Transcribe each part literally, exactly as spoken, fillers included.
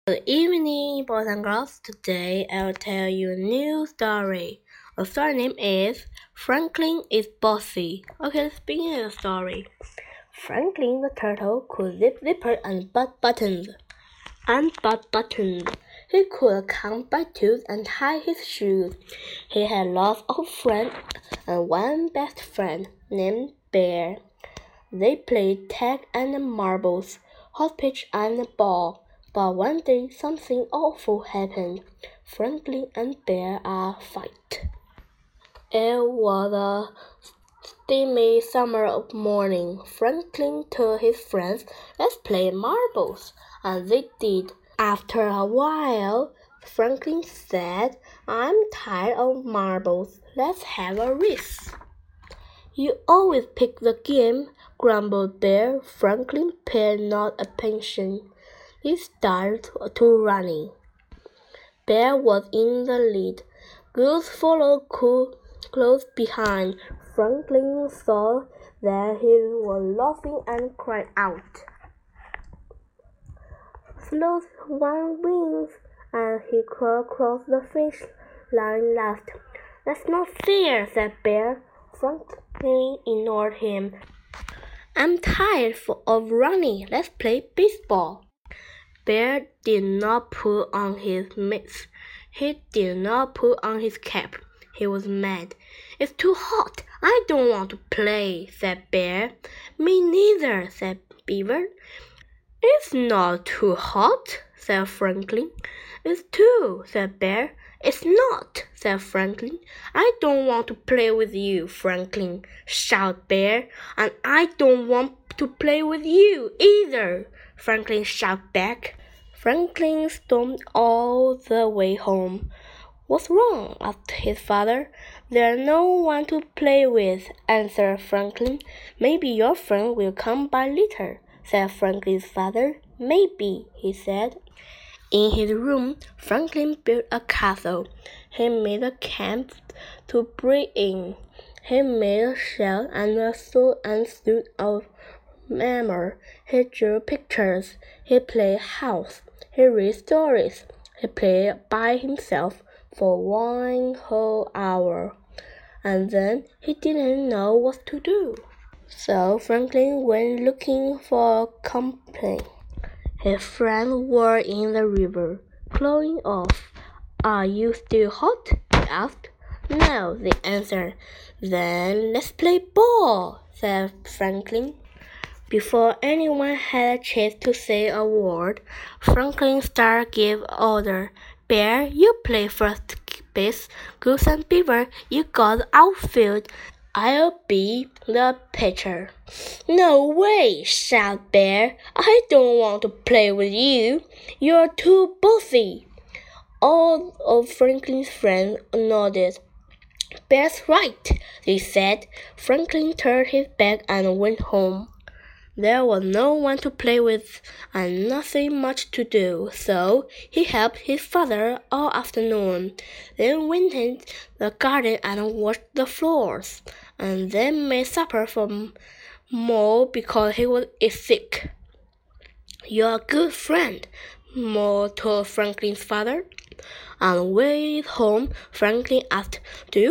Good evening, boys and girls. Today I'll tell you a new story. The story name is Franklin is Bossy. Okay, let's begin the story. Franklin the turtle could zip zippers and butt buttons. And butt buttons. He could count by twos and tie his shoes. He had lots of friends and one best friend named Bear. They played tag and marbles, hopscotch and ball. But one day something awful happened. Franklin and Bear are fight. It was a steamy summer morning. Franklin told his friends, "Let's play marbles," and they did. After a while, Franklin said, "I'm tired of marbles. Let's have a race." "You always pick the game," grumbled Bear. Franklin paid not attention. He started to running. Bear was in the lead. Goose followed close behind. Franklin saw that he was laughing and cried out. "Sloth one wins," and he crawled across the finish line last. "That's not fair," said Bear. Franklin ignored him. "I'm tired of running. Let's play baseball." Bear did not put on his mitts. He did not put on his cap. He was mad. "It's too hot. I don't want to play," said Bear. "Me neither," said Beaver. "It's not too hot," said Franklin. "It's too," said Bear. "It's not," said Franklin. "I don't want to play with you, Franklin," shouted Bear. "And I don't want to play with you either," Franklin shouted back. Franklin stormed all the way home. "What's wrong?" asked his father. "There's no one to play with," answered Franklin. "Maybe your friend will come by later," said Franklin's father. "Maybe," he said. In his room, Franklin built a castle. He made a camp to breathe in. He made a shell and a sword and suit of armor. He drew pictures. He played house. He read stories. He played by himself for one whole hour. And then he didn't know what to do. So Franklin went looking for company. His friends were in the river, cooling off. "Are you still hot?" he asked. "No," they answered. "Then let's play ball," said Franklin. Before anyone had a chance to say a word, Franklin started gave order. "Bear, you play first base. Goose and Beaver, you got the outfield. I'll be the pitcher." "No way!" shouted Bear. "I don't want to play with you. You're too bossy." All of Franklin's friends nodded. "Bear's right," they said. Franklin turned his back and went home. There was no one to play with and nothing much to do, so he helped his father all afternoon, then went in the garden and washed the floors, and then made supper for Mo because he was sick. "You're a good friend," Mo told Franklin's father. On the way home, Franklin asked, "Do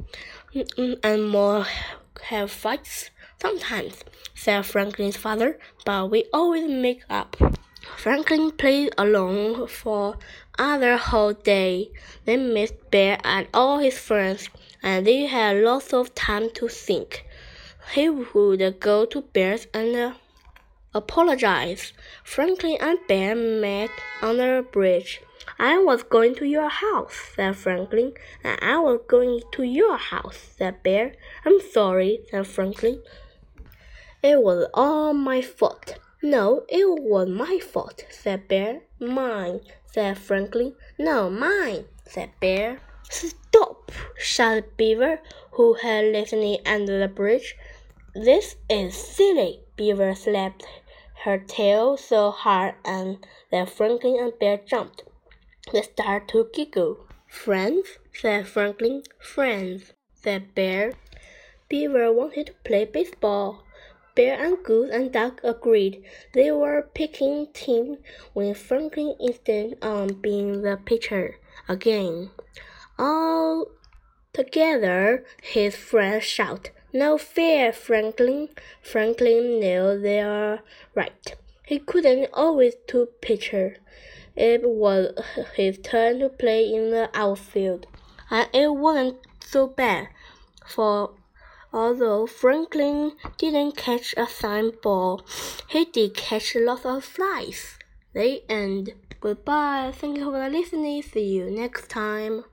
you and Mo have fights?" "Sometimes," said Franklin's father, "but we always make up." Franklin played alone for another whole day. They missed Bear and all his friends, and they had lots of time to think. He would go to Bear's and uh, apologize. Franklin and Bear met on the bridge. "I was going to your house," said Franklin. "And I was going to your house," said Bear. "I'm sorry," said Franklin. "It was all my fault." "No, it was my fault," said Bear. "Mine," said Franklin. "No, mine," said Bear. "Stop!" shouted Beaver, who had listening under the bridge. "This is silly." Beaver slapped her tail so hard and that Franklin and Bear jumped. They started to giggle. "Friends?" said Franklin. "Friends," said Bear. Beaver wanted to play baseball, Bear and Goose and Duck agreed. They were picking teams when Franklin insisted on being the pitcher again. All together, his friends shouted, "No fair, Franklin!" Franklin knew they were right. He couldn't always do pitcher. It was his turn to play in the outfield, and it wasn't so bad, for although Franklin didn't catch a signed ball, he did catch lots of flies. The end. Goodbye. Thank you for listening. See you next time.